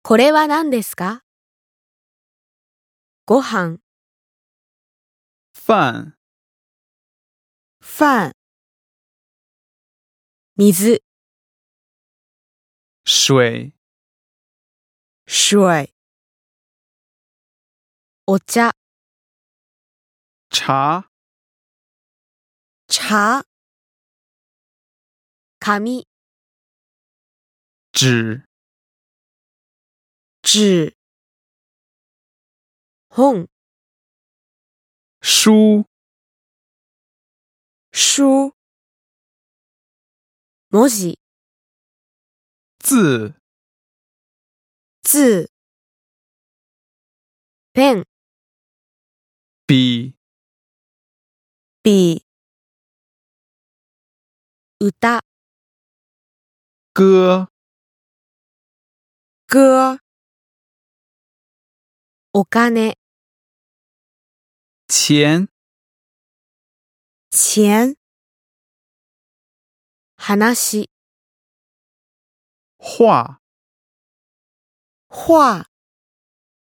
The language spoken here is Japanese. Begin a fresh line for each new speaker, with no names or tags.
これは何ですか？ご飯、
饭、
飯、水、
水、
水、お茶、
茶、
茶、紙、
纸、
紙、本、
书、
書、文字、
字、
字、ペン、
笔、
筆、歌、
歌、
歌、お金、
钱、
钱、話、
画、
画、